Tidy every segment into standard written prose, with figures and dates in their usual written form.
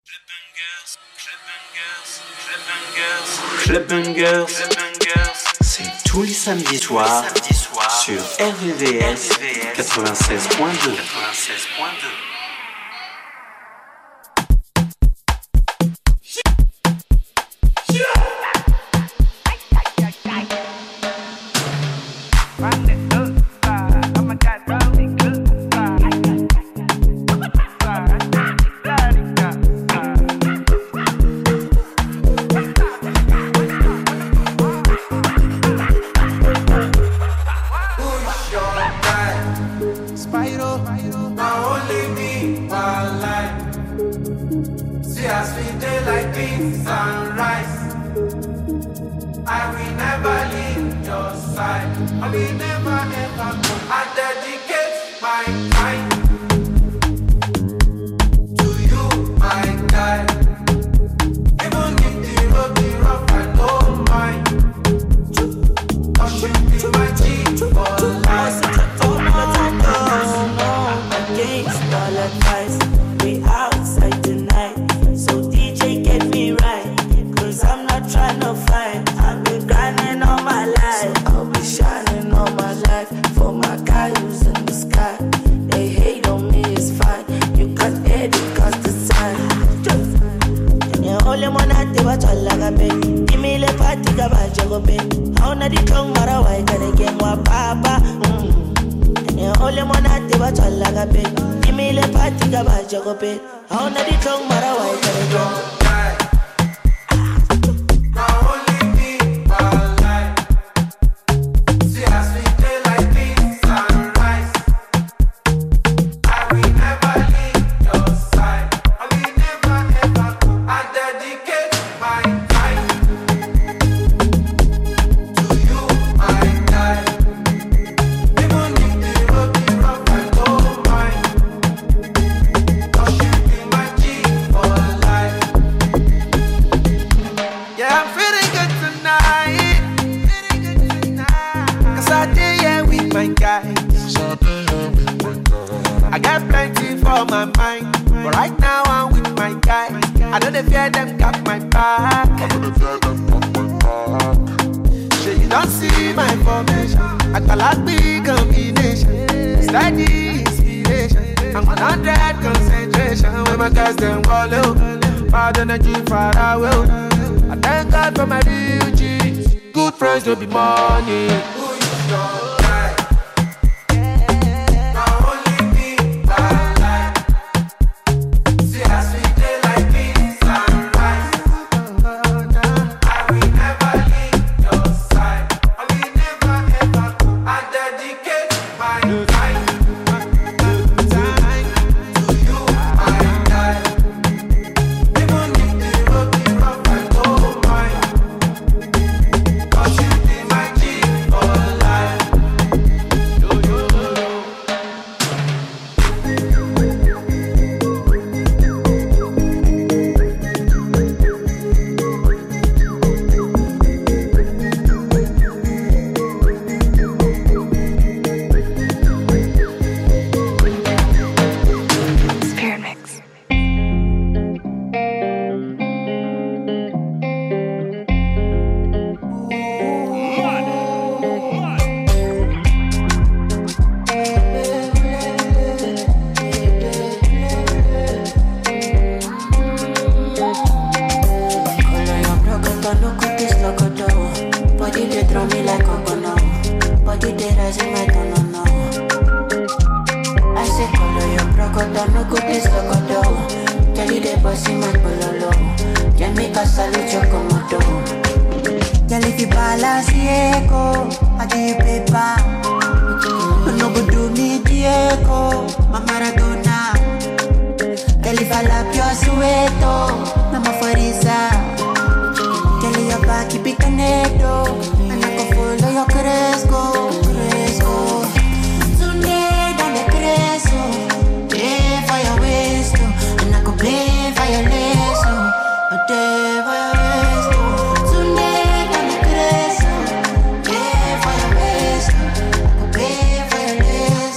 Club Bangers, c'est tous les samedis soirs sur RVVS 96.2.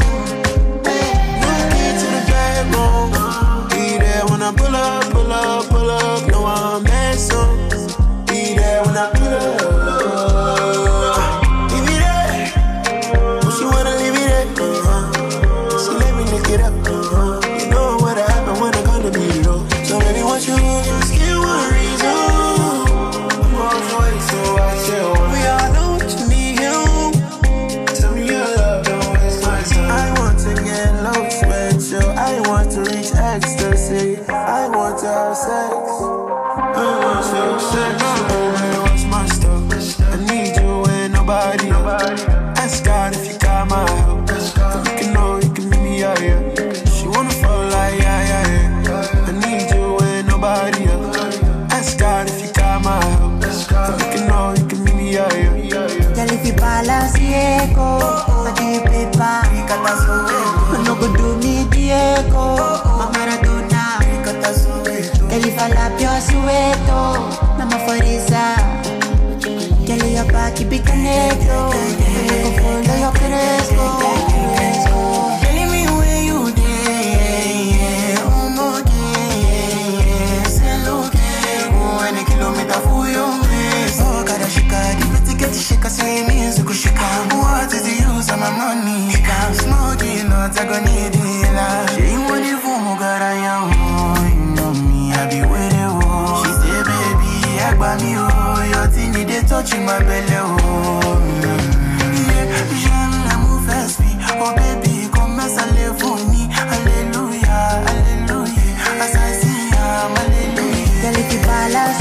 Pull up, have sex. What's my stuff? I need you and nobody else. Ask God if you got my help. If you can know, you can meet me out here. She wanna fall like yeah. I need you and nobody else. Ask God if you got my help. If you can know, you can meet me out here. Girl, if you balance the echo, I give paper. No go do me the echo. My Maradona. Girl, if I lap your Soweto, Mama Forisa. Girl, your back, keep it connected. Go follow your Cresco. Telling me where you there. Oh, no, there. Say, look, oh, 1 kilometer for your waist. Oh, gotta shika, the get shika, say me, so go shika. What is the use of my money? I'm smoking, not I gonna need it. She want it for me, God, I am. You know me, I be with it. She say, baby, I got me, oh, your thing, they touching my belly, oh. Yeah, j'aime l'amour fast me, oh baby, comme ça les fournis. Alléluia, alléluia, assassin, alléluia. Girl, if you balance.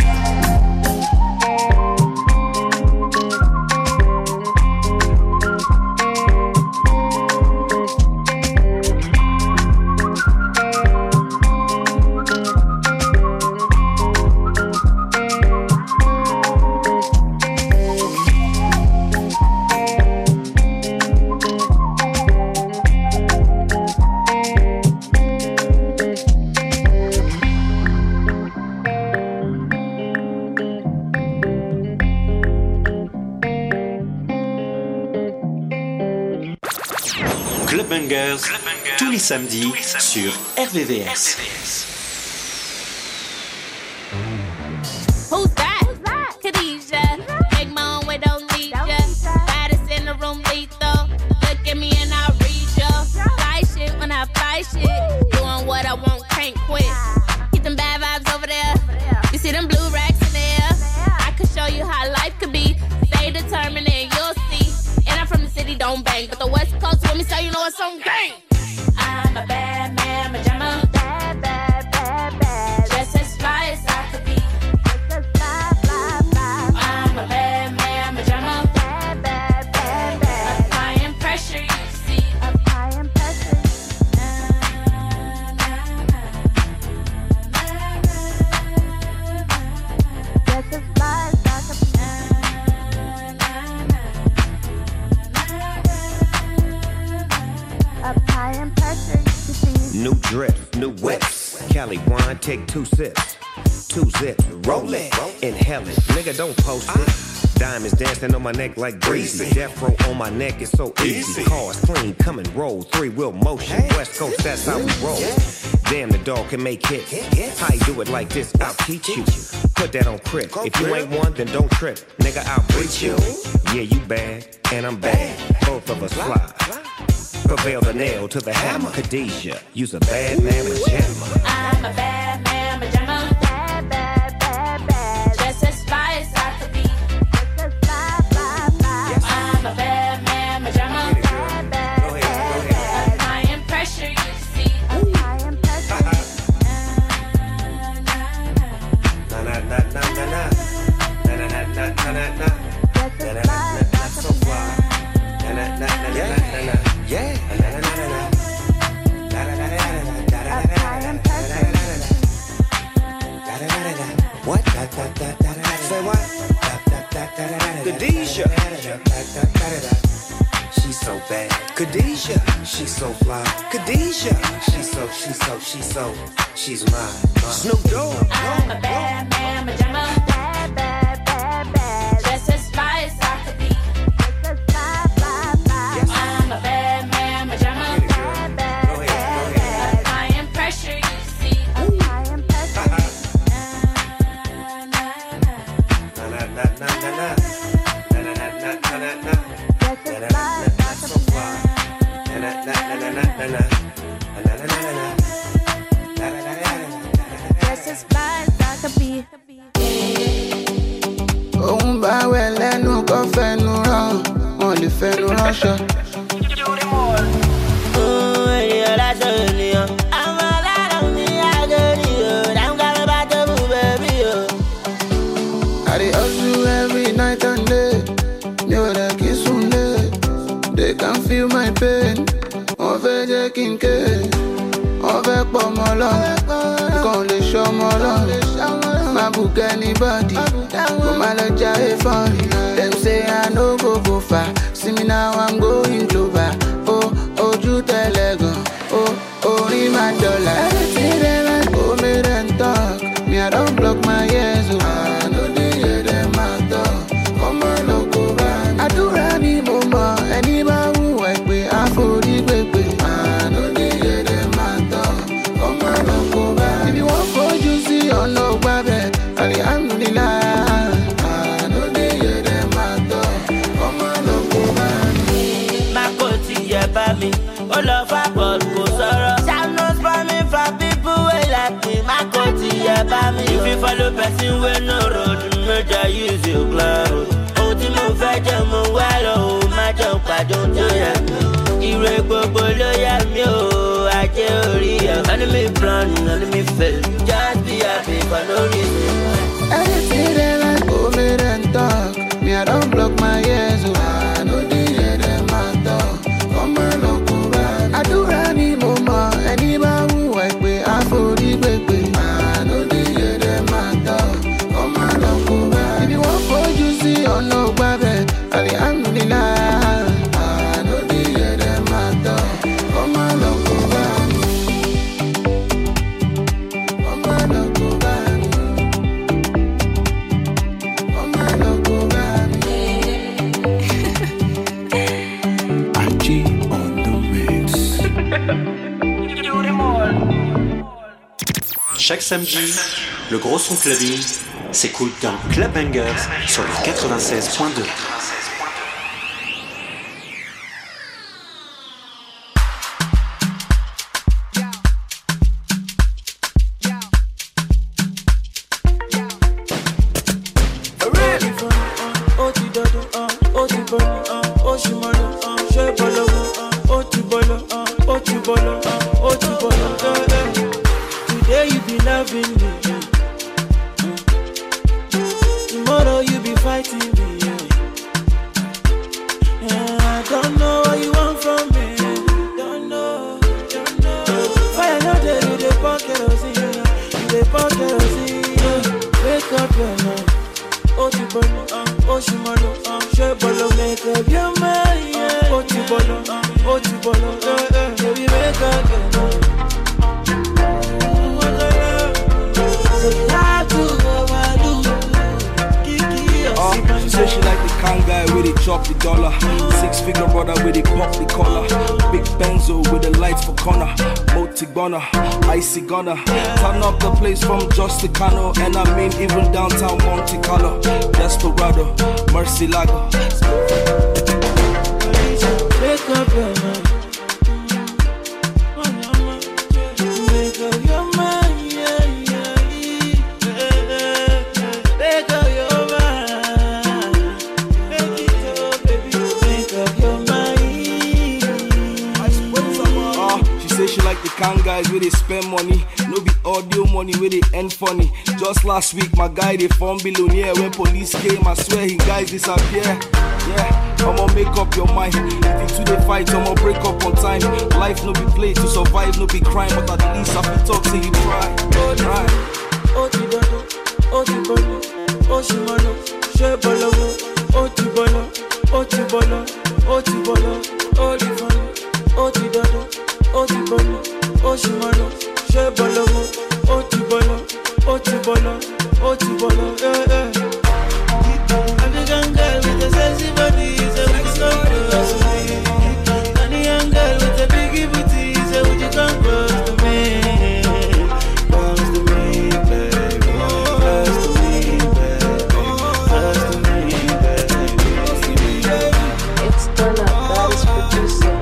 Club Bangers, tous les samedis sur RVVS. Who's that? Khadijah. Make my own way, don't need ya. Baddest in the room, lethal. Look at me and I'll read ya. Fly shit when I fly shit. Doing what I want, can't quit. Keep them bad vibes over there. You see them blue racks in there? I could show you how life could be. Stay determined and you'll see. And I'm from the city, don't bang. But the West Coast with me, so you know it's on gang. I'm a bad man, pajama. Bad, bad, bad, bad. Just as fly as I could be. Just as fly, fly, fly. I'm a bad man, pajama. Bad, bad, bad, bad. Applying pressure, you see. Applying pressure. Just as fly as I could be. Applying pressure, you see. New drip, new whips. Cali wine, take 2 sips. 2 zips, roll it, inhale it. Nigga, don't post it. Diamonds dancing on my neck like greasy. Death row on my neck is so easy. Cars clean, come and roll. 3-wheel motion. West Coast, that's how we roll. Damn, the dog can make hits. How you do it like this? I'll teach you. Put that on crib. If you ain't one, then don't trip. Nigga, I'll breach you. Yeah, you bad, and I'm bad. Both of us fly. Prevail the nail to the hammer. Khadijah, you's a bad man pajama. I'm a bad man, pajama. Bad, bad, bad, bad. Just as fly as I could be. Just as fly, fly, fly. I'm a bad man, pajama. Bad, bad, bad, bad. Applying pressure, you see. Applying pressure. Na na na na na na. Na na na na na na na. Just as fly as I So could be. fly. Na na na na na na. Yeah. Na na na na na. Da da da da da da da Applying pressure. What? Say what? Khadijah. She's so bad. Khadijah. She's so fly. Khadijah. She's mine. Snoop Dogg. I'm a bad man, pajama. Bad, bad, bad, bad. Just as fly as I could be. Just as fly, fly, fly. I'm a bad man, pajama. Bad, bad, bad, bad. Applying pressure, you see. Applying pressure. Na na na na na na. Na na na na na na na. Just as fly as I So could be. fly. Na na na na na na na. Na na na na na. Just as fly as I could be. Òun bá wẹ̀ lẹ́nu kọ́ fẹnu rán, wọn lè fẹnu ránṣọ. Ènìyàn lásán ènìyàn. Àwọn aláàrọ̀ mi àgẹ̀rì o, dáhùn ká ló My book anybody, go my lodge funny. Them say I no go far. See me now, I'm going global. Oh, you tell ego. Oh, in my dollar. Everything they like, go me and talk. Me, I don't block my ears. I know they hear them out talk. Come on, no go back. I do rally mama. Anybody who work with I for the baby. I know they hear them out talk. Come on, no go back. If you want for you see or no baby, alhamdulillah. I know they hear them out talk. Come on, no go back. My coach, yeah, baby. All of our God go sorrow. Shall not spam me for people who like me. My coach, yeah, baby. If you follow person with no road, murder use your cloud. Ultimo fetch mo well, my jump, I don't do ya. Irregular, yeah, me, oh, I tell you. Enemy plan, enemy fail. Just be happy for no reason. Anything they like, go me and talk. Me, I don't block my ears, I know they hear them out talk. Come on, no go back. I do rally mama. Anybody who work with I for the baby. I know they hear them out talk. Come on, no go back. If you want for you see or no baby, alhamdulillah. I know they hear them out talk. Come on, no go back. Come on, no go back. Come on, no go back. G on the mix. Chaque samedi, le gros son clubbing s'écoute dans Club Bangers sur le 96.2. Today you be loving me, tomorrow you be fighting me. I don't know what you want from me. Don't know. Fire no day, you dey pour kerosene, you dey pour kerosene. Wake up your mind, oti bolo, she bolo, make up your mind. Oti bolo, baby wake up your mind. She said she like the kind guy where they drop the dollar. 6-figure brother where they pop the collar. Big Benzo with the lights for corner. Motigona, icy gunner. Turn up the place from Justicano. And I mean even downtown Monte Carlo. Desperado, Mercy Lago. Wake up your mind. Wake up your mind, yeah. Wake up your mind. Make it up, baby. Wake up your mind. She say she like the kind guys where they spend money. No be audio money where they end funny. Just last week my guy they form billionaire. When police came I swear he guys disappear. Yeah, I'ma make up your mind. If you two they fight, I'ma break up on time. Life no be play, to survive no be crime. But at least I feel talk till you try. Oti bolo, oshimano, she bolo, oti bolo, olifano, oti dodo, oti bolo, oshimano, she bolo, oti bolo, yeah. African girl with a sexy body, so we can come close to me. And the young girl with a big booty, so would you come close to me? Close to me, baby. Close to me, baby. Close to me, baby. It's Donna, that is producer.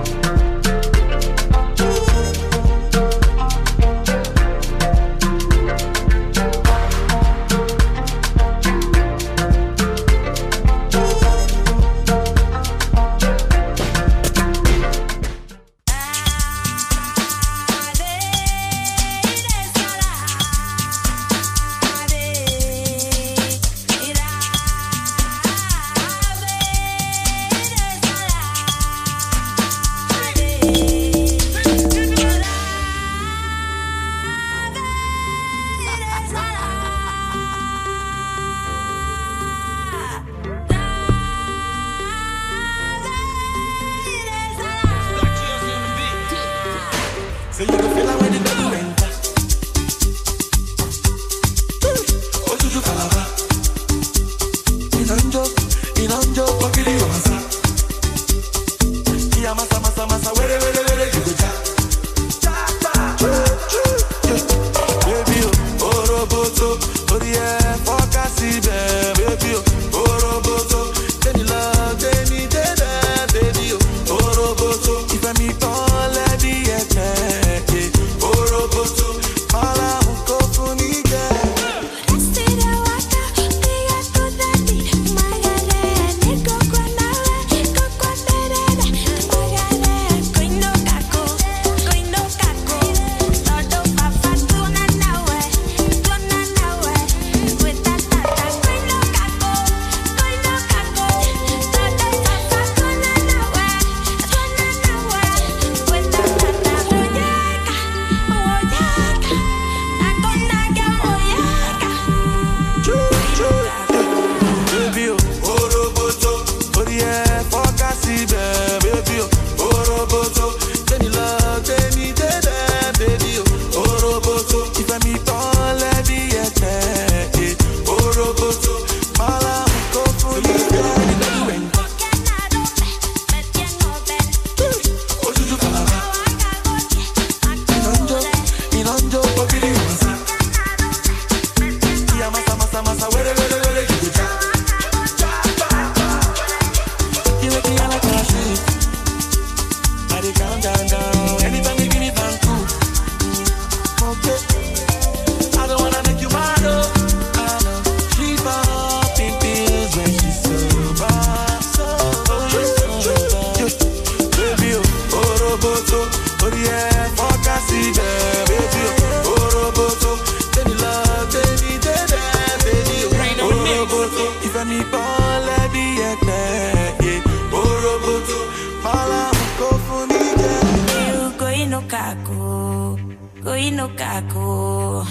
born let the egg yeah. Oroboto, mala go for me, yeah. You go in no kaku, go in no kaku.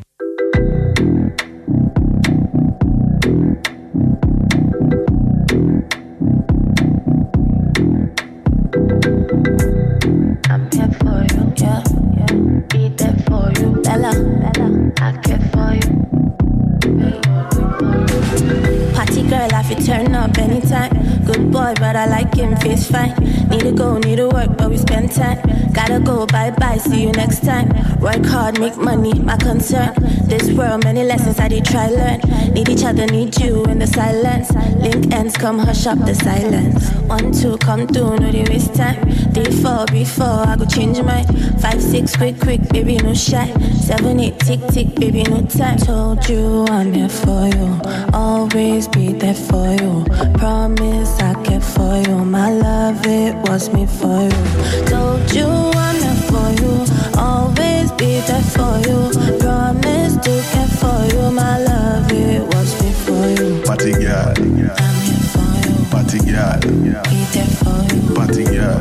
I'm here for you, yeah, yeah. Be there for you, Bella, Bella. I care for you. Party girl, I fit turn up anytime. Good boy, but I like him, face fine. Need to go, need to work, but we spend time. Gotta go, bye-bye, see you next time. Work hard, make money, my concern. This world, many lessons I did try learn. Need each other, need you in the silence. Link ends, come hush up the silence. 1, 2, come through, no they waste time. 3, 4, before I go change mine. 5, 6, quick, baby, no shy. 7, 8, tick, baby, no time. Told you I'm here for you. Always be there for you. Promise I care for you. My love, it was me for you. Told you I'm here for you. Always be there for you. Promise to care for you. My love, it was me for you. Party girl, I'm here for you. party girl, Be there for you. party girl.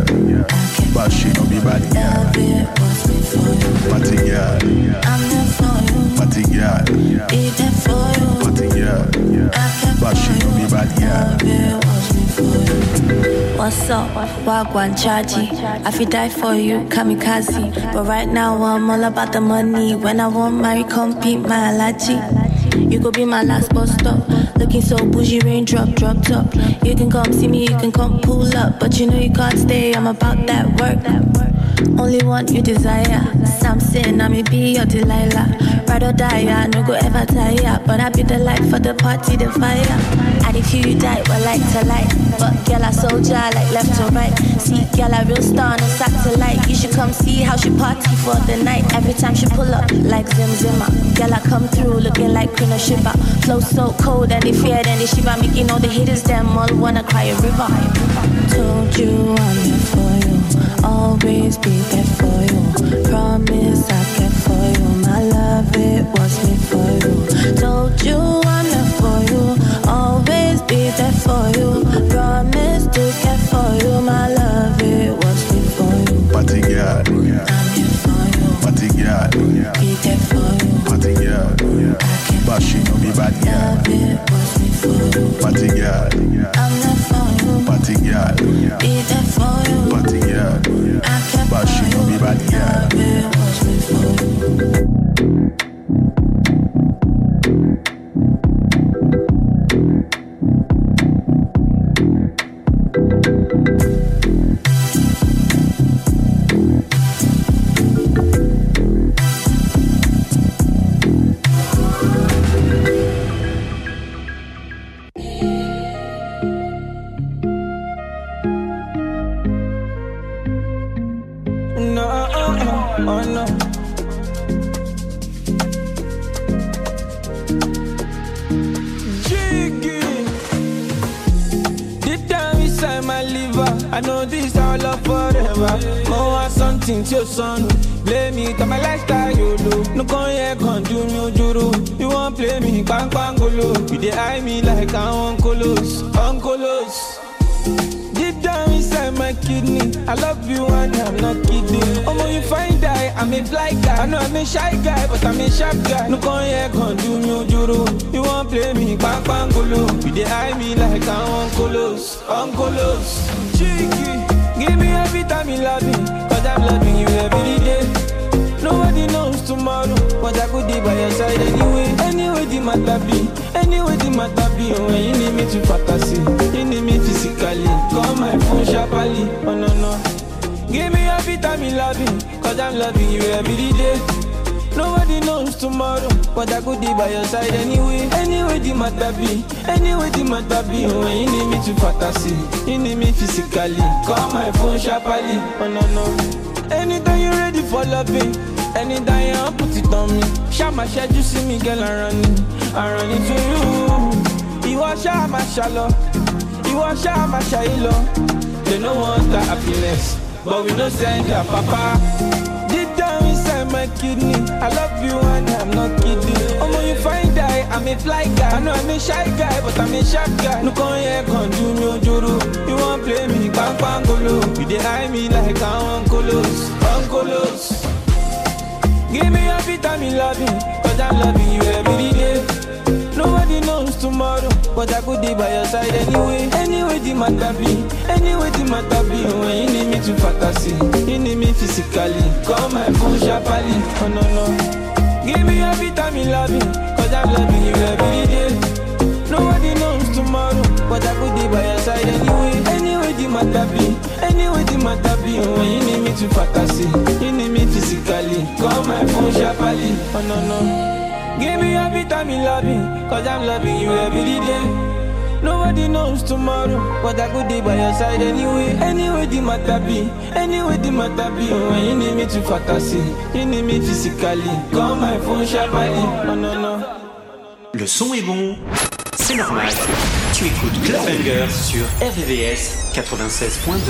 But she no be bad girl. Love, it was me for you. Party girl, I'm here for you. party girl, Be there for you. party girl. I care But she no for be you. bad girl. Love, it was me for you. What's up? Wagwan Chaji. I feel die for you, kamikaze. But right now I'm all about the money. When I want marry, compete my allergy. You could be my last bus stop. Looking so bougie, raindrop, drop top. You can come see me, you can come pull up. But you know you can't stay, I'm about that work. Only one you desire. Samson, I may be your Delilah. Ride or die, I no go ever tire. But I be the light for the party, the fire. And if you die, well, like to light. But girl, I soldier, like left to right. See, girl, I real star on a satellite. You should come see how she party for the night. Every time she pull up, like Zim Zimmer. Girl, I come through looking like Queen of Shiva. Flow so cold and they fear, then they shiver. Making all the haters, them all wanna cry a river. Told you I'm here for you. Always be there for you. Promise I care for you. My love, it was me for you. Told you I'm there for you. Always be there for you. Promise to care for you. My love, it was me for you. Party girl, I'm here for you. party girl, Be there for you. party girl. But she no be bad girl. Love, it was me for you. Party girl, I'm there for you. party girl, Be there for you. party girl. I care But for she no be you. bad girl. Love, it was me for you. Oh no. Jiggy. Deep down inside my liver, I know this our love forever. More want something to your son. Blame it on my lifestyle, you do. No con here, con do me juru. You won't play me, bang bangolo. You dey eye me like I'm uncolos, uncolos. Deep down inside my kidney, I love you and I'm not kidding. Oh, you find die, I'm a fly guy. I know I'm a shy guy, but I'm a sharp guy. No con here, con do me juru. You won't play me, bang bangolo. You dey eye me like I'm uncolos, uncolos. Cheeky, give me every time you love me, cause I'm loving you every day. Nobody knows tomorrow, but I could be by your side anyway. Anyway, the matter be, anyway, the matter be. When you need me to fantasy, you need me physically. Call my phone sharply, oh no, no. Give me every time you love me, cause I'm loving you every day. Nobody knows tomorrow, but I could be by your side anyway. Anyway, the matter be, anyway, the matter be. When you need me to fantasy, you need me physically. Call my phone sharply, oh no, no. Anytime you're ready for loving, anytime you put it on me. Shout my shed, you see me, girl, I'm running to you. You are shy, my shallow. You are shy, my shy low. They don't want the happiness, but we don't send their papa. Deep down inside my kidney. I love you and I'm not kidding. Oh, you find guy, I'm a fly guy. I know I'm a shy guy, but I'm a sharp guy. No come here, come do no juru. You won't play me, bang bang golo. You dey eye me like I'm Uncolos. Give me a vitamin loving, cause I'm loving you every day. Nobody knows tomorrow, but I could be by your side anyway. Anyway, the matter be. When you need me to fantasy, you need me physically. Call my phone sharply. Oh no. Give me a vitamin loving, cause I'm loving you every day. Nobody knows tomorrow, but I could be by your side anyway. Anyway, the matter be. When you need me to fantasy, you need me physically. Call my phone sharply. Oh no. Give me a vitamin loving, cause I'm loving you every day. Nobody knows tomorrow, but I could be by your side anyway. Anyway, the matter be. When you need me to fantasy, you need me physically. Call my phone sharply. Oh no. Le son est bon, c'est normal. Tu écoutes Club Banger sur RVVS 96.2.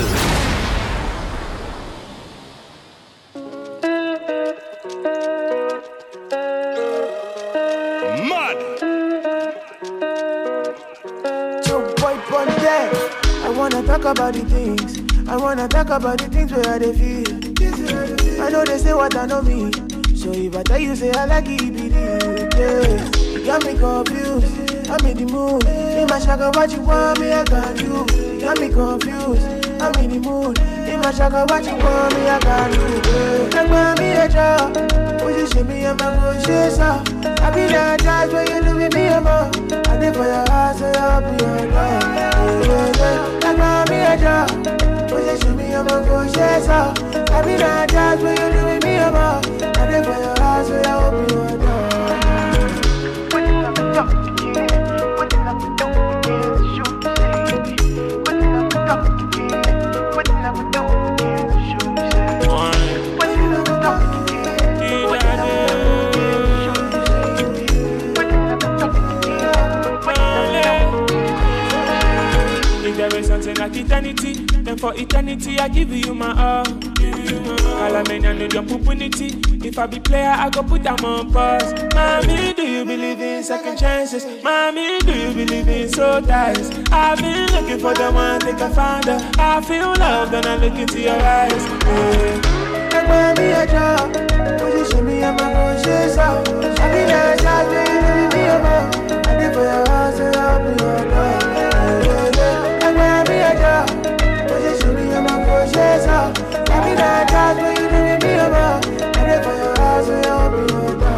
Talk about the things. I wanna talk about the things where they feel. I know they say what I know me. So if I tell you say I like it, be yeah. You got me confused. I'm in the mood. In my shaka, what you want me, I got you. You got me confused. I'm in the mood. In my shaka, what you want me, I got you. Like me a job. Position me, I'm a good chaser. I be that judge when you do with me, I'm a. I did for your house, so I'll be your dog. Like me a job. Position me, I'm a good chaser. I be that judge when you do with me, I'm a. I did for your house, so I'll be your dog. Something like eternity, then for eternity I give you my all. Calamania need your opportunity. If I be player, I go put them on pause. Mommy, do you believe in second chances? Mommy, do you believe in soul ties? I've been looking for the one, think I found her. I feel love, then I look into your eyes. Like mommy, a job. Position me, I'm a good chaser. I be that shot, baby, me, I'm a. I did for your house, and I'll be your dog. Position me, I'm a good chaser. I be that judge when you do with me, I'm a. I did for your house, so I'll be your dog.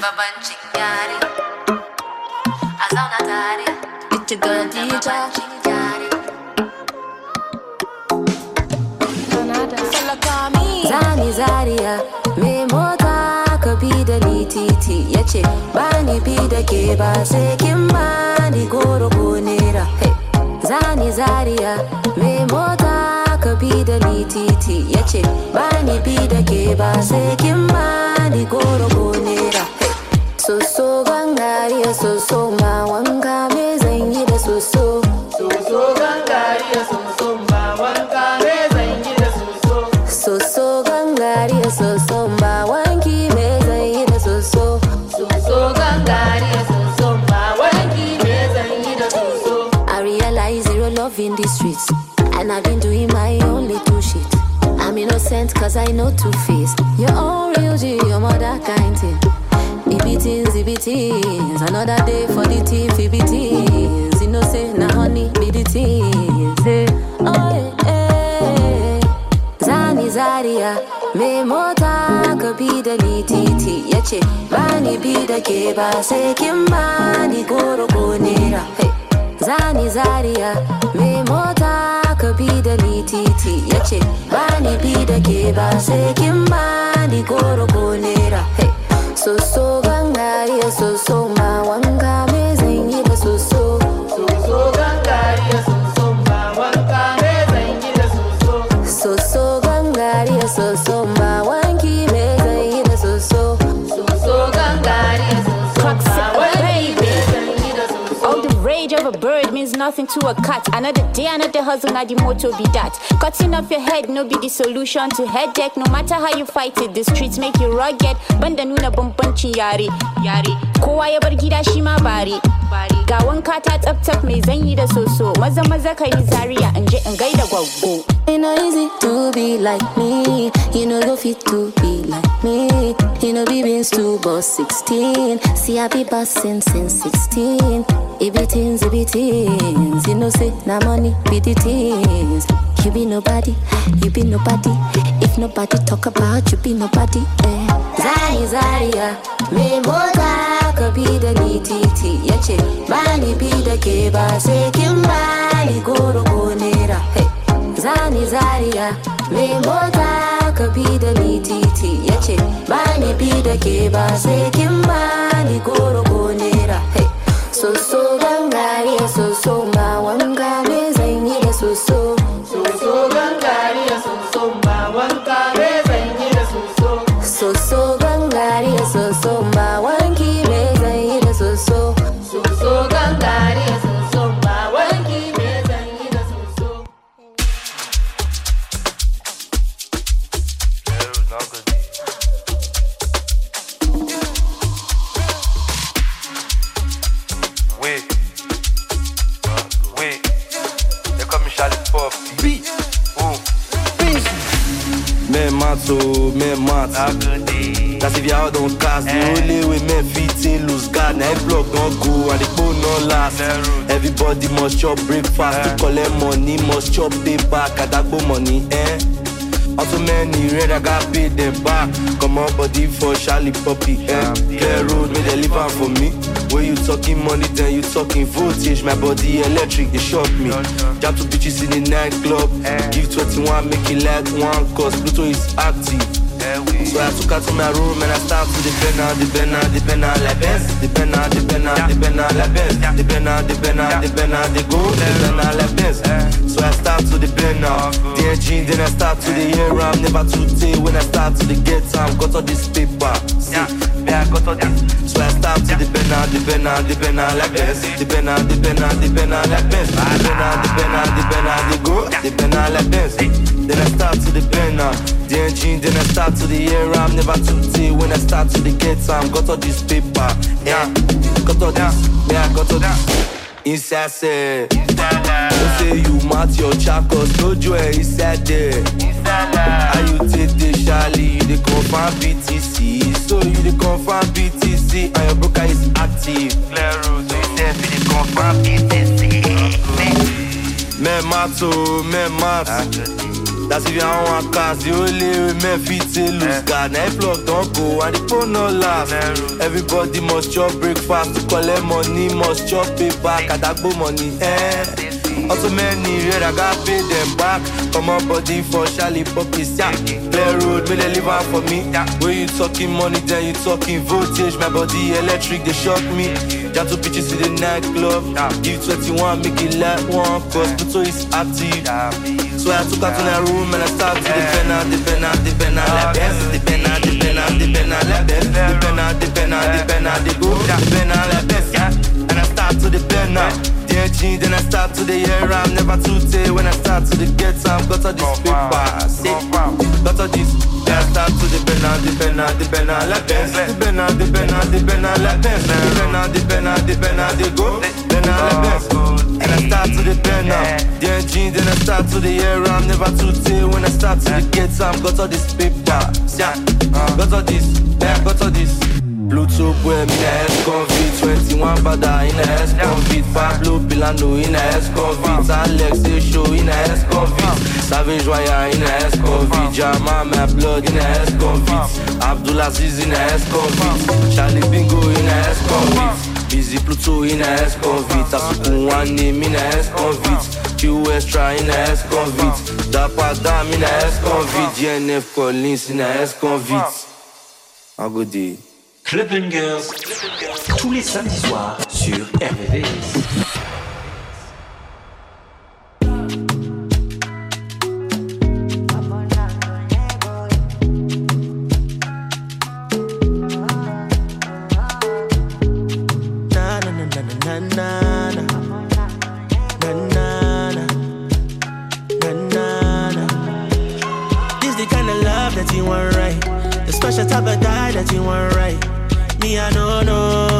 It's your girl DJ. Zani Zaria, me mota ka bi da ni titi yace bani bi da ke ba sai kin bani goro ko nera. Hey, Zani Zaria, me mota ka bi da ni titi yace bani bi da ke ba sai kin bani goro ko nera. Hey, so gangariya so ma wanka me zan yi da so gangariya so ma wanka me zan yi da so gangariya so ma wanki me zan yi da so gangariya so ma wanki me zan yi da so. I realize zero love in the streets and I've been doing my own little shit. I'm innocent cause I know two-faced. Your own real G, your mother kind thing. Ibitins, another day for the team, Ibitins. You know say, na honey, be the teams. Oh yeah, Zani Zaria, me mota ka bi da ni titi yace bani bi da ke ba sai kin bani goro ko nera. Hey, Zani Zaria, me mota ka bi da ni titi yace bani bi da ke ba sai kin bani goro ko nera. Hey, so gangariya so ma wanka me zan yi da so gangariya so ma wanka me zan yi da so gangariya so ma wanki me zan yi da so gangariya so ma wanki me zan yi da so. All the rage of a bird means nothing to a cat. Another day, another hustle, now the motto be that. Cutting off your head, no be the solution to headache. No matter how you fight it, the streets make you rugged. Banda nuna bambancin yare. Kowa ya bar gida shi ma bare. Ga wanka ta tsaf mai zan yi da soso. Maza kai ni Zaria in je in gaida gwaggo. It no easy to be like me. You know you fit to be like me. You know be been to boss 16. See I be bossing since 16. Ibitins, you know say na money be the things. You be nobody, you be nobody. If nobody talk about you, be nobody. Zani Zaria, me mota ka bi da ni titi yace bani bi da ke ba sai kin bani goro ko nera. Hey, Zani Zaria, me mota ka bi da ni titi yace bani bi da ke ba sai kin bani goro ko nera. Hey, so gangariya so ma wanka me zan yi da so gangariya so ma wanka me zan yi da so gangariya so ma wanki me zan yi da so gangariya so ma wanki me zan yi da so. Men mat That's if y'all don't cast the only way men fit lose God. Now every block don't go and the phone don't last. Everybody must chop breakfast to collect money, must chop pay back at that money, Also many red I got paid them back. Come on body for Charlie Puppy, Clear road me they live out for me. When you talking money then you talking voltage. My body electric, they shock me. Jump to bitches in the nightclub. Give 21, make it like one, cause Pluto is active. So I took her to my room and I start to depend on la baisse. Depend on la baisse. Depend on the go. Depend on la baisse. So I start to depend on the engine, then I start to the year. I'm never too late when I start to the get time. Got all this paper. I got all this. So I start to depend on la baisse. Depend on la baisse. Depend on the go. Depend on la baisse. Then I start to depend on the engine, then I start to the year. I'm never too late when I start to the get time. Got all this paper, got all this, I got all this. Inside say, don't say you mat your chakos, no joy inside there. How you take the Charlie, you the confirm BTC. So you the confirm BTC, and your broker is active. Clear road, so you say you the confirm BTC. Men mat. That's if you don't want cars, the only way men fit to lose God. Now plug don't go and the phone no last. Everybody must chop breakfast to collect money, must chop paper, kadagbo money. Also many red, I got pay them back. Come on body for Charlie Puppies, yeah. Clear road, may they live out for me. When you talking money, then you talking voltage. My body electric, they shock me. Got two pitches to the nightclub. Give 21, make it like one. Cause Pluto is active. So I took out to the room and I started to depend on like best. Depend on like best. Depend on the go. Depend on like best, yeah. And I start to depend now. Then I start to the year, I'm never too late. When I start to the get time, got all this paper, say, got all this. Then I start to depend on like best. Depend on like best. Depend on the go. Depend on like best. And I start to depend now. Then I start to the year, I'm never too late. When I start to the get time, got all this paper, yeah. Got all this, yeah, got all this. Pluto boy, in a S-Convict 21 Bada in a S-Convict Pablo Pilano in a S-Convict Alex Show in a S-Convict Savage Wire in a S-Convict Jama My Blood in a S-Convict Abdulaziz in a S-Convict Charlie Bingo in a S-Convict Busy Pluto in a S-Convict Asukun One Name in a S-Convict Q Extra in a S-Convict Dapa Dam in a S-Convict GNF Collins in a S-Convict A good day. Club Bangers, tous les samedis soirs sur RVVS. This the kind of love that you want, right? The special type of guy that you want, right? Me, I don't know.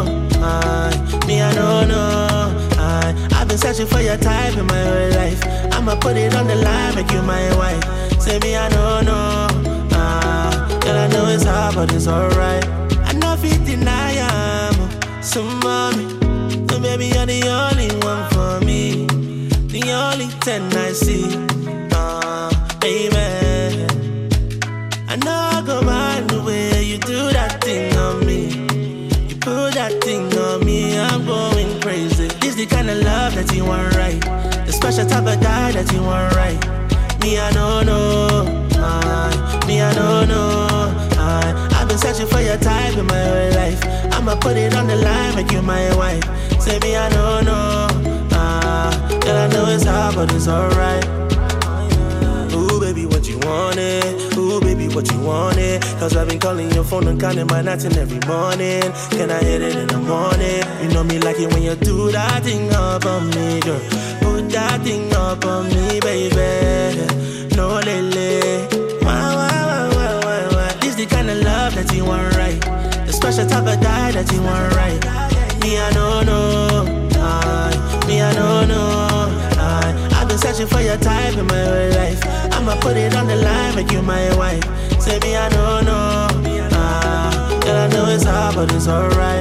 I've been searching for your type in my whole life. I'ma put it on the line, make you my wife. Say me, I don't know. Girl, I know it's hard, but it's alright. I know if you deny I'm so mommy. So baby, you're the only one for me. The only 10 I see. Baby, I know I go mind the way you do that thing on me. Put that thing on me, I'm going crazy. This the kind of love that you want, right? The special type of guy that you want, right? Me, I don't know. I've been searching for your type in my whole life. I'ma put it on the line, make you my wife. Say me, I don't know. Girl, I know it's hard, but it's alright. Ooh, baby, what you wanted? Ooh, baby, what you wanted? Cause I've been calling your phone and counting my nights and every morning. Can I hit it in the morning? You know me like it when you do that thing up on me, girl. Put that thing up on me, baby. No, lele. Why? This the kind of love that you want, right? The special type of guy that you want, right? Me, I don't know. Me, I don't know. I've been searching for your type in my whole life. I'ma put it on the line, make you my wife. Say me, I don't know. Girl, I know it's hard, but it's alright.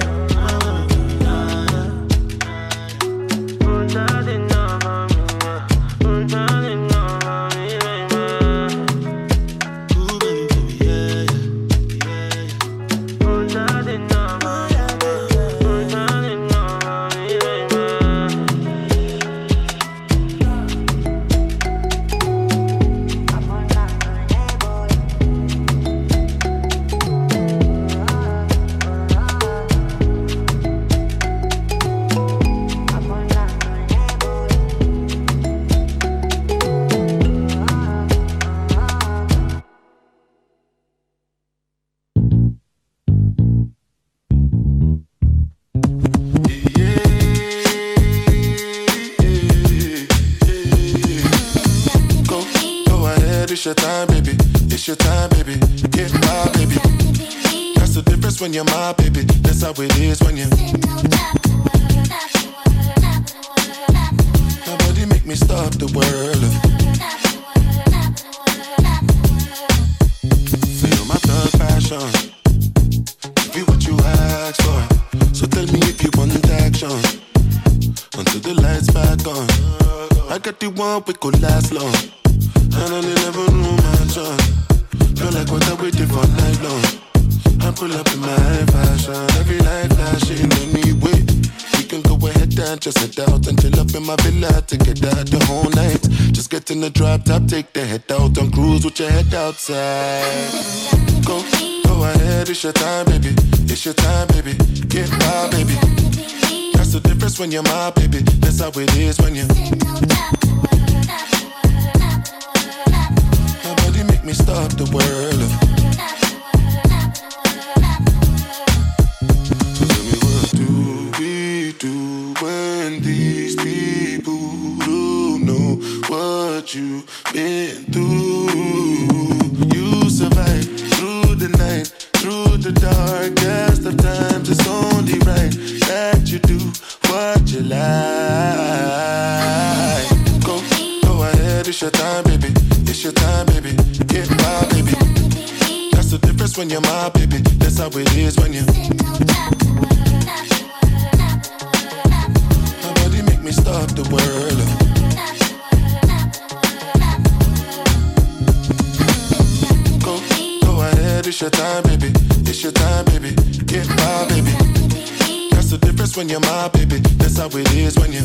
It's your time, baby. It's your time, baby. Get my baby. That's the difference when you're my baby. That's how it is when you. Nobody make me stop the world. Feel my thug passion. Be what you ask for. So tell me if you want action. Until the lights back on. I got the one we could last long. And I never knew just head out and chill up in my villa to get out the whole night. Just get in the drop top, take the head out and cruise with your head outside. Go ahead, it's your time, baby. It's your time, baby. Get wild, baby. That's the difference when you're my baby. That's how it is when you. Nobody make me stop the world. So tell me, what do we do when these people don't know what you've been through? You survive through the night, through the darkest of times. It's only right that you do what you like. Go ahead, it's your time, baby. It's your time, baby. Get wild, baby. That's the difference when you're my baby. That's how it is when you. Nobody make me stop the world. Go ahead, it's your time, baby. It's your time, baby. Get wild, baby. That's the difference when you're my baby. That's how it is when you.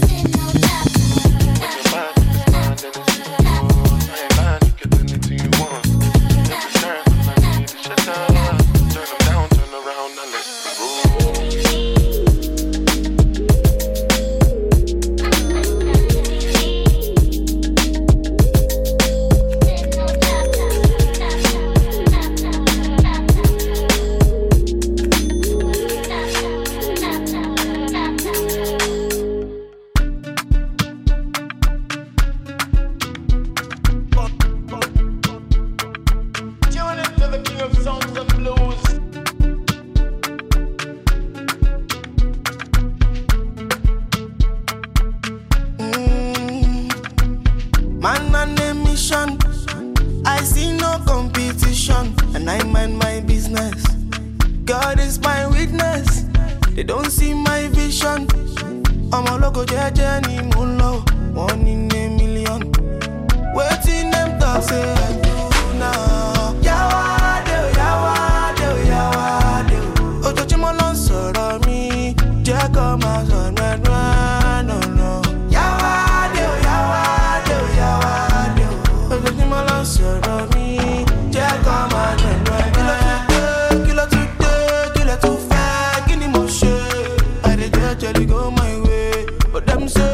Man on a mission, I see no competition, and I mind my business. God is my witness, they don't see my vision. I'm a local journey, moonlow, 1 in a million. Waiting them talk, say I do now. Yawade, yawade, yawade. Ojo chimo lon sọ̀rọ̀ mi, jẹ́ kó máa sọ no no. Yawade, yawade, yawade. Ojo chimo lon sọ̀rọ̀ mi, jẹ́ kó máa no. Kilo too fẹ́, kí ni mo ṣe? I dey jejely go my way, but them say.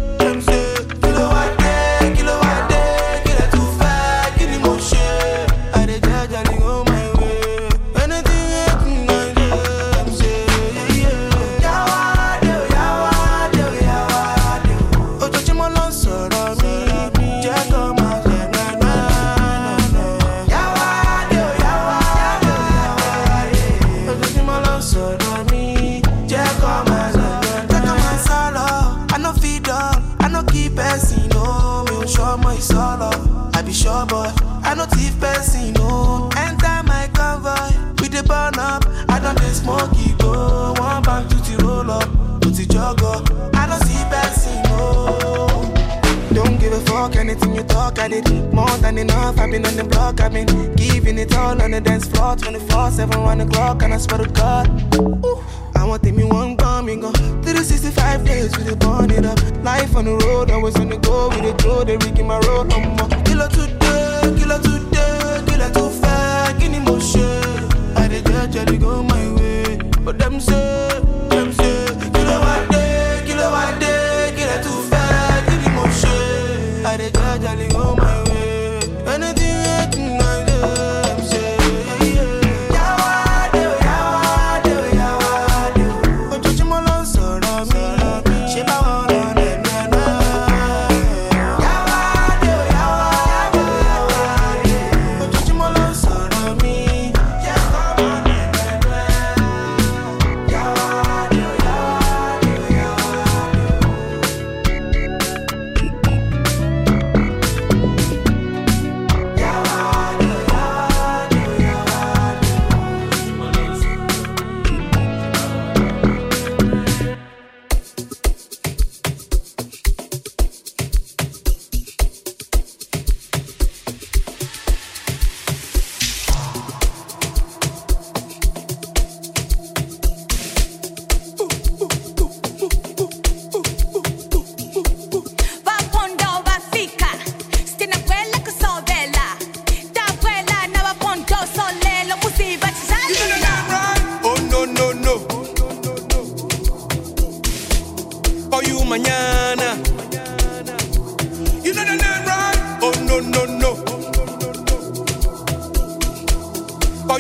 Sure, boy, I no thief person, no. Enter my convoy, we dey burn up. I don't dey smoke, go. One bank to the roll up, to the jogger. I don't see person, no. Don't give a fuck, anything you talk, I did more than enough. I've been on the block, I've been giving it all on the dance floor, 24/7, 1 o'clock, and I swear to God. Ooh. I want me one bomb, me go 365 days, we dey burn it up. Life on the road, always on the go, we dey throw the rig in my road, Kilo today, kilo too far, kini mo ṣe? I dey jejely go my way, but them say, kilo wade, kilo too far, kini mo ṣe? I dey jejely go my way, anything I do, them say, yawade, yawade, yawade. Ojoojúmọ́ ló ń sọ̀rọ̀ mi, ṣé báwo lọ rẹ̀ náà? Yawade, yawade.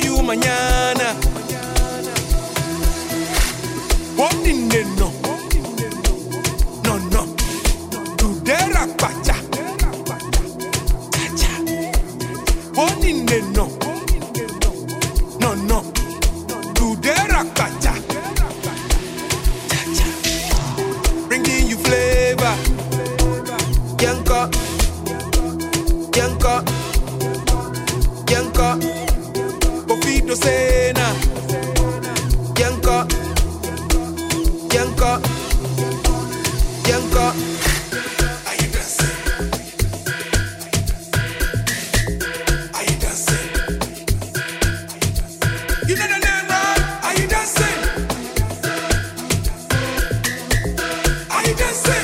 you mañana. What in the no? No, no. Today rakpacha. What in the no? No, no. Today rakpacha. Bringing you flavor. Yanka. Yanka. Yanka. Pofito Sena. Yanka. Yanka. Yanka. Are you dancing? Are you dancing? You know the name, right? Are you dancing? Are you dancing?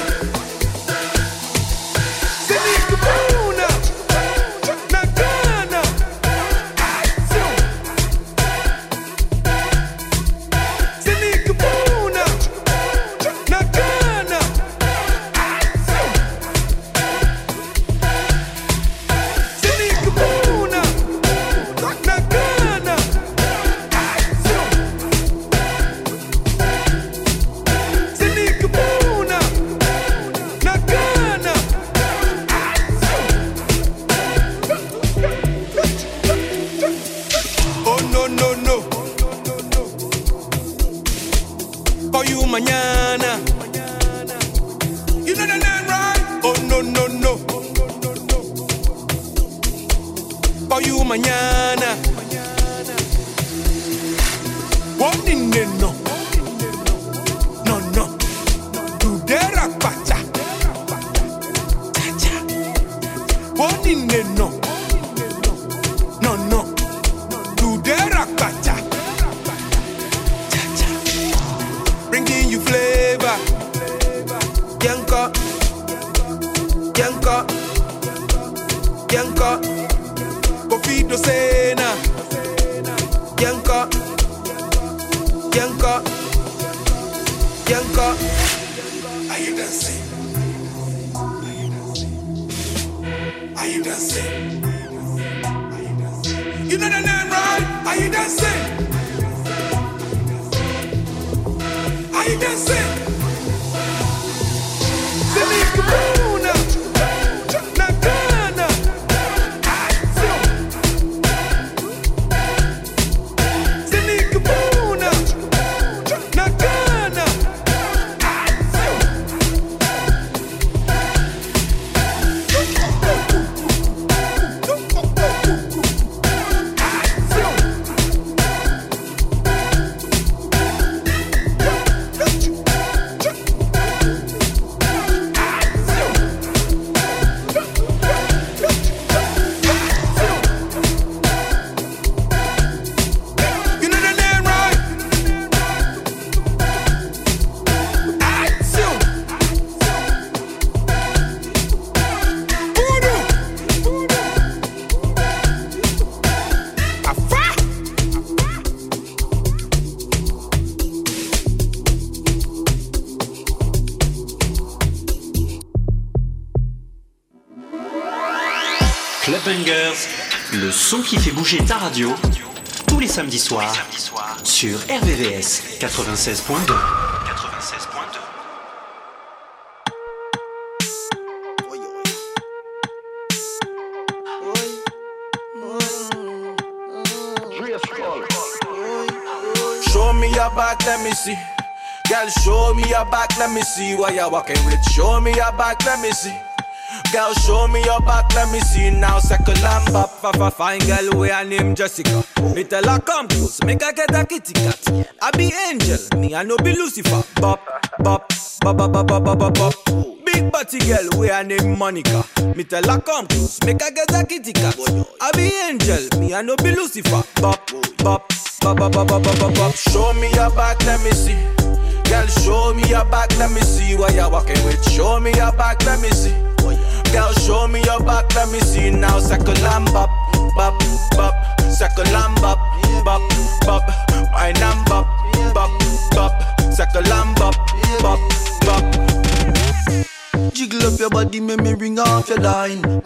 Silikuna, Nagana, Action. Silikuna, Nagana, Action. Silikuna, Nagana, Action. Silikuna, Nagana, oh no no no. For you mañana. You know the name, right? Oh no no no. For you mañana. What in the no? No no. Today rakpacha. Cha-cha. What in the no? No no. Today rakpacha. Cha-cha. Bringing you flavor. Yanka. Yanka. Yanka. Pofito Sena. Yanka. Yanka. Yanka. Are you dancing? Are you dancing? You know the name, right? Are you dancing? Are you dancing? Silikuna, Nagana, Action. Silikuna, Nagana, Action. You know the name, right? Action. Voodoo. Afa. Club Bangers, le son qui fait bouger ta radio, tous les samedis soirs, sur RVVS 96.2. Show me your back, let me see. Girl, show me your back, let me see what you're walking with. Show me your back, let me see. Girl, show me your back, let me see now. Second lamb up, fine girl, we her name Jessica. Me tell her come close, make her get a kitty cat. I be angel, me I no be Lucifer. Bop, bop, bop, bop, bop, bop, bop, bop. Big body girl, we her name Monica. Me tell her come close, make her get a kitty cat. I be angel, me I no be Lucifer. Bop, bop, bop, bop, bop, bop, bop, bop. Show me your back, let me see. Girl, show me your back, let me see what you're walking with. Show me your back, let me see. Girl, show me your back, let me see now. Second lamb bop, bop, bop. Second lamb bop, bop, bop. My lamb bop, bop, bop. Second lamb bop, bop, bop. Jiggle up your body, make me ring off your line.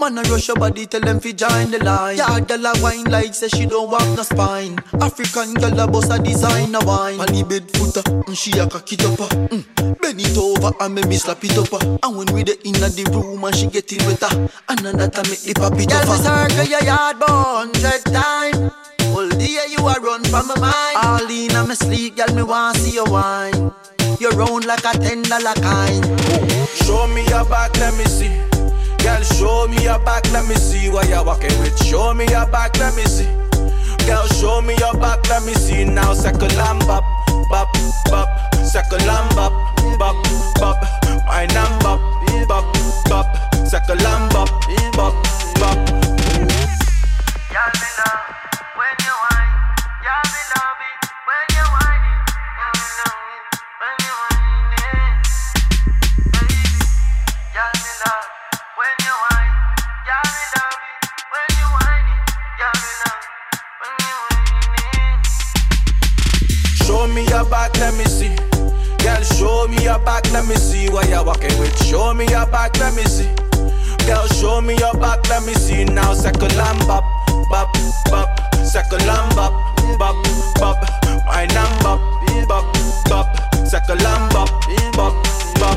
Man, I rush your body, tell them fi join the line. Yeah, girl a wine like say she don't have no spine. African girl a boss a designer wine. On the bed footer, she a cock it up. Bend it over and make me slap it up. And when we the inna the room and she get it wetter, and that I make the pop it up. Girl, me circle your yard 100 times. All day you a run from my mind. All in on my sleep, girl, me want see you wine. You round like a $10 kind. Show me your back, let me see. Girl, show me your back, let me see what you're walking with. Show me your back, let me see. Girl, show me your back, let me see. Now second lamb bop, bop, bop. Second lamb bop, bop, bop. My lamb bop, bop, bop. Second lamb bop, bop, bop. Y'all me love when you whine. Y'all me love it when you whine. When you whine, baby. Y'all me love when you whine. Y'all me love it when you whine. Y'all me love when you whine. Show me your back, let me see. Girl, show me your back, let me see what you're walking with. Show me your back, let me see. Girl, show me your back, let me see. Now second lamb bop, bop, bop. Second lamb bop, bop, bop. My lamb bop, bop, bop. Second lamb bop, bop, bop.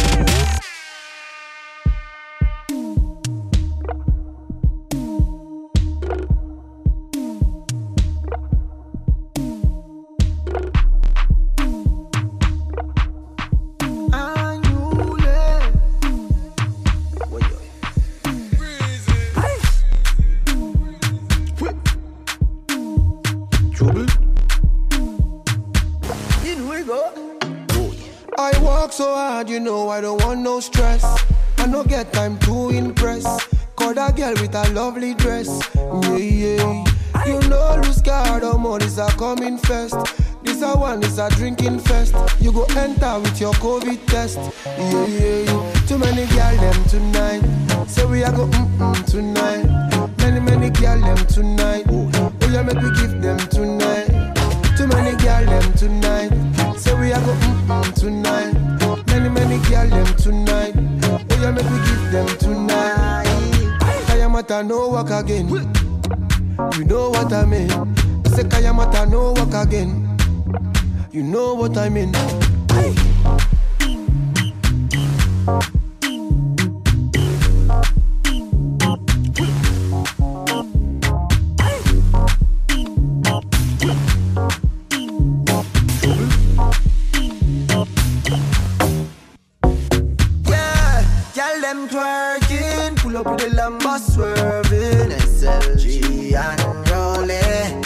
I work so hard, you know I don't want no stress. I no get time to impress. Call that girl with a lovely dress. Yeah, yeah. You know lose card or more is a coming fest. This a one is a drinking fest. You go enter with your COVID test. Yeah, yeah, yeah. Too many girl them tonight. Say we a go tonight. Many girl them tonight. Oh yeah, make we give them tonight. Too many girl them tonight. Say we a go tonight. Many girl them tonight. Oh yeah, make we give them tonight. Kayamata no work again. You know what I mean. I say Kayamata no work again. You know what I mean. Pull up with the Lambo swerving, SLG and rolling.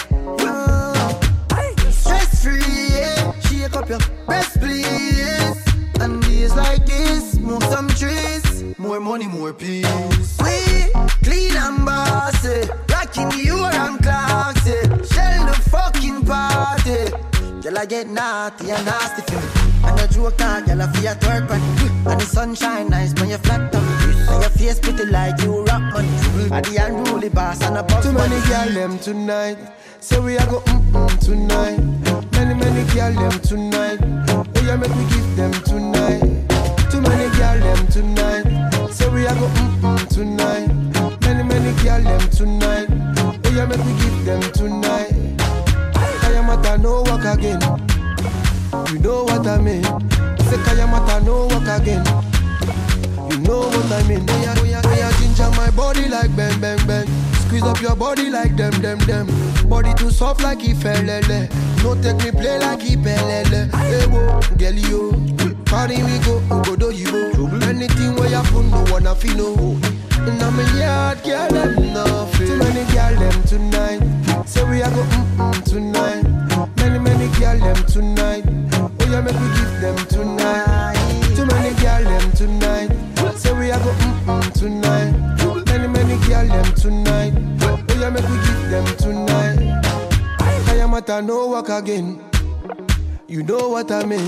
Stress free, yeah. Shake up your best please. And days like this, move some trees. More money, more peace. We clean and bossy, rocking you and classy. Shell the fucking party. Girl, I get naughty and nasty for me. And the joke out, girl, I feel at work on it. And the sunshine nice when you flat tummy. And your face pretty like you rock money. And the unruly boss and a boss. Too many girl them tonight. Say we a go tonight. Many girl them tonight. Oh yeah, make we give them tonight. Too many girl them tonight. Say we a go tonight. Many girl them tonight. Oh yeah, make we give them tonight. Kayamata no work again. You know what I mean. Say Kayamata no work again. You know what I mean. Oh yeah, ginger my body like bang, bang, bang. Squeeze up your body like them. Body too soft like Ifelele. No take me play like Ipelele. Hey wo, girl yo. Party we go do you go. Anything where you put no one fi know. And I'm a yard girl them nothing. Too many girl them tonight. Say we a go tonight. Many girl them tonight. Oh yeah, make we give them tonight. Too many girl them tonight. Say we a go tonight. Many girl them tonight. Oh yeah, make we give them tonight. Kayamata no work again. You know what I mean.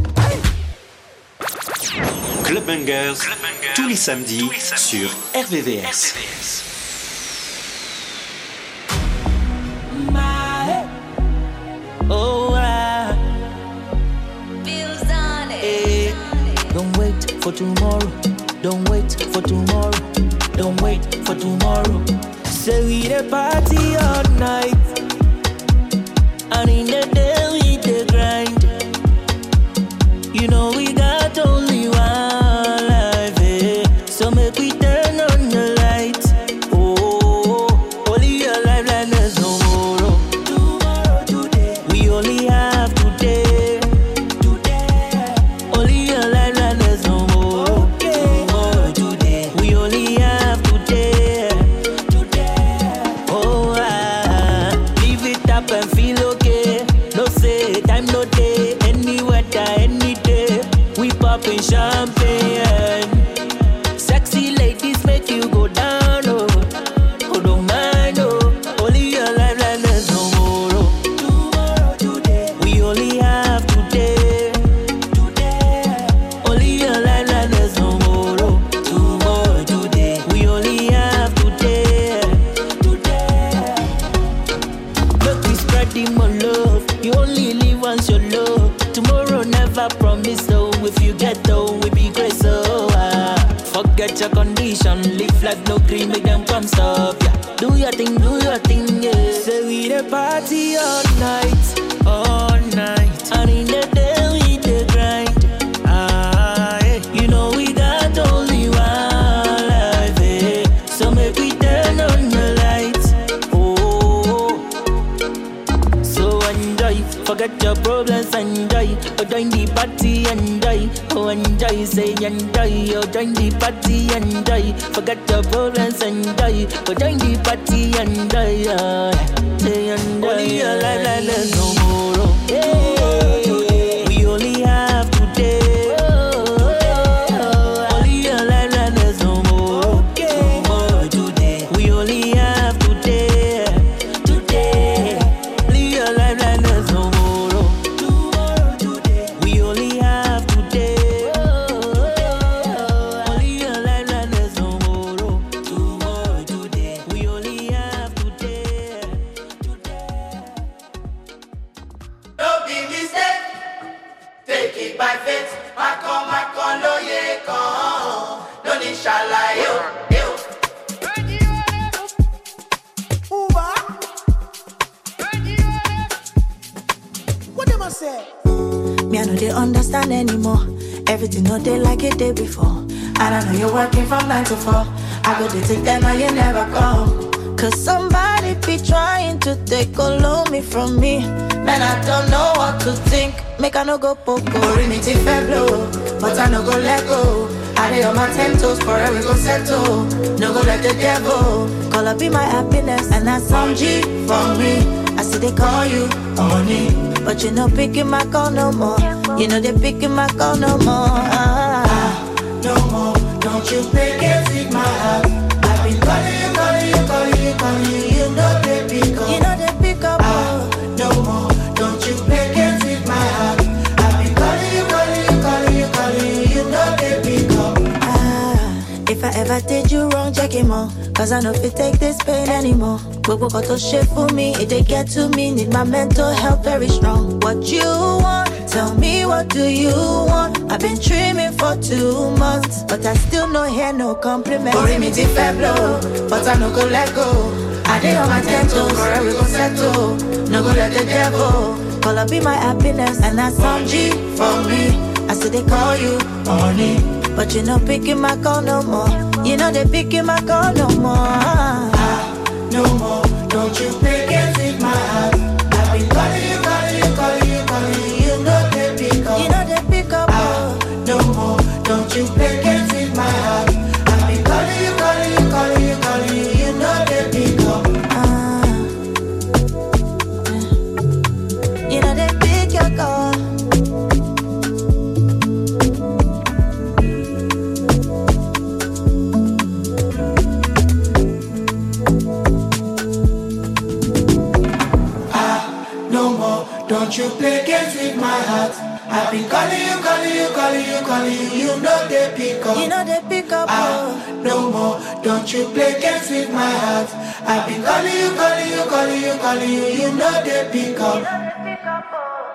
Club Bangers, tous les samedis sur RVVS. Don't wait for tomorrow. Don't wait for tomorrow. Don't wait for tomorrow. Say we the party all night, and in the day we the grind. You know we got only one life, eh? So make we turn on the lights. Oh, only your life like there's tomorrow. Tomorrow, today. We only have today. Today. Only your life like there's tomorrow. Tomorrow, today. We only have today. Today. Oh, live it up and feel okay. No say time no day. Any weather, any day. We poppin' champagne. Sexy ladies make you go down, oh. Oh, don't mind, oh. Only your life like there's tomorrow. Tomorrow, today. We only have today. Today. Only your life like there's tomorrow. Tomorrow, today. We only have today. Today. Make we spread the more love. You only live once you love. Tomorrow never promise, so if you get though, we be great, so forget your condition, live life, no cream, make them come stop, yeah. Do your thing, yeah. Say we the party all night, and in the day we the grind, yeah. You know we got only one life, eh? So make we turn on the lights, oh. So enjoy, forget your problems, enjoy. Oh, join the party, enjoy. Oh, enjoy, say enjoy. Oh, join the party, enjoy. Forget your problems, enjoy. Oh, join the party, enjoy. Say enjoy. Only your life like there's tomorrow. Yeah. We only have today. Only your life like there's tomorrow. Tomorrow, today. We only have today. Today. Only your life like there's tomorrow. We only have today. Only your life like there's tomorrow. Tomorrow, today. We only have today. Don't be mistake. Take it by faith. Macon, loye con. Don't inshallah, yo. What them I say? Me, I know they understand anymore. Everything not they like it day before. And I know you're working from 9 to 4. I go to take them and you never come. Cause somebody be trying to take all of me from me. Man, I don't know what to think. Make I no go poco. Rimiti feblo, but I no go let go. I lay on my 10 toes, forever go settle. No go let the devil call up be my happiness. And that's some G for me. I see they call you honey, but you no picking my call no more. You know they picking my call no more. No more, don't you pick it with my heart. I've been calling you, you know they pick up. You know they pick up. No more, don't you pick it with my heart. I've been calling you, you know they pick up. If I ever did you wrong, check him out. Cause I know if it take this pain anymore. Gbogbo got to shit for me, if they get to me, need my mental health very strong. What you want? Tell me what do you want? I've been dreaming for 2 months, but I still no hear no compliment. Rimiti feblo, but I no go let go. I did on my 10 toes, forever go settle. No go let the devil call up be my happiness. And that's some G for me. I say they call you honey, but you no picking my call no more. You know they picking my call no more. No more, don't you pick it with my heart. I've been calling you, you know they pick up. You know they pick up. No more, don't you pick it with my heart. I've been calling you, you know they pick up. You know they pick your call. Don't you play games with my heart. I've been calling you, you know they pick up. You know they pick up. No more, don't you play games with my heart. I've been calling you, you know they pick up.